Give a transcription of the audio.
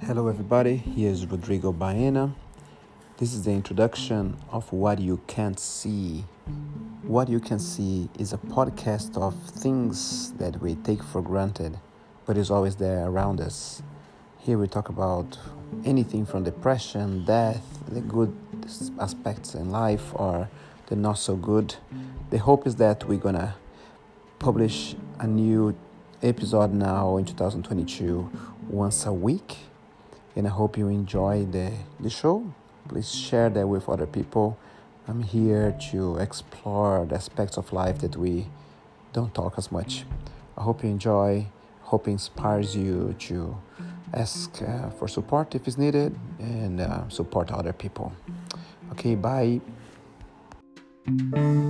Hello, everybody. Here's Rodrigo Baena. This is the introduction of What You Can't See. What You Can See is a podcast of things that we take for granted, but is always there around us. Here we talk about anything from depression, death, the good aspects in life, or the not so good. The hope is that we're gonna publish a new episode now in 2022 once a week. And I hope you enjoy the show. Please share that with other people. I'm here to explore the aspects of life that we don't talk as much. I hope you enjoy. Hope it inspires you to ask for support if it's needed and support other people. Okay, bye.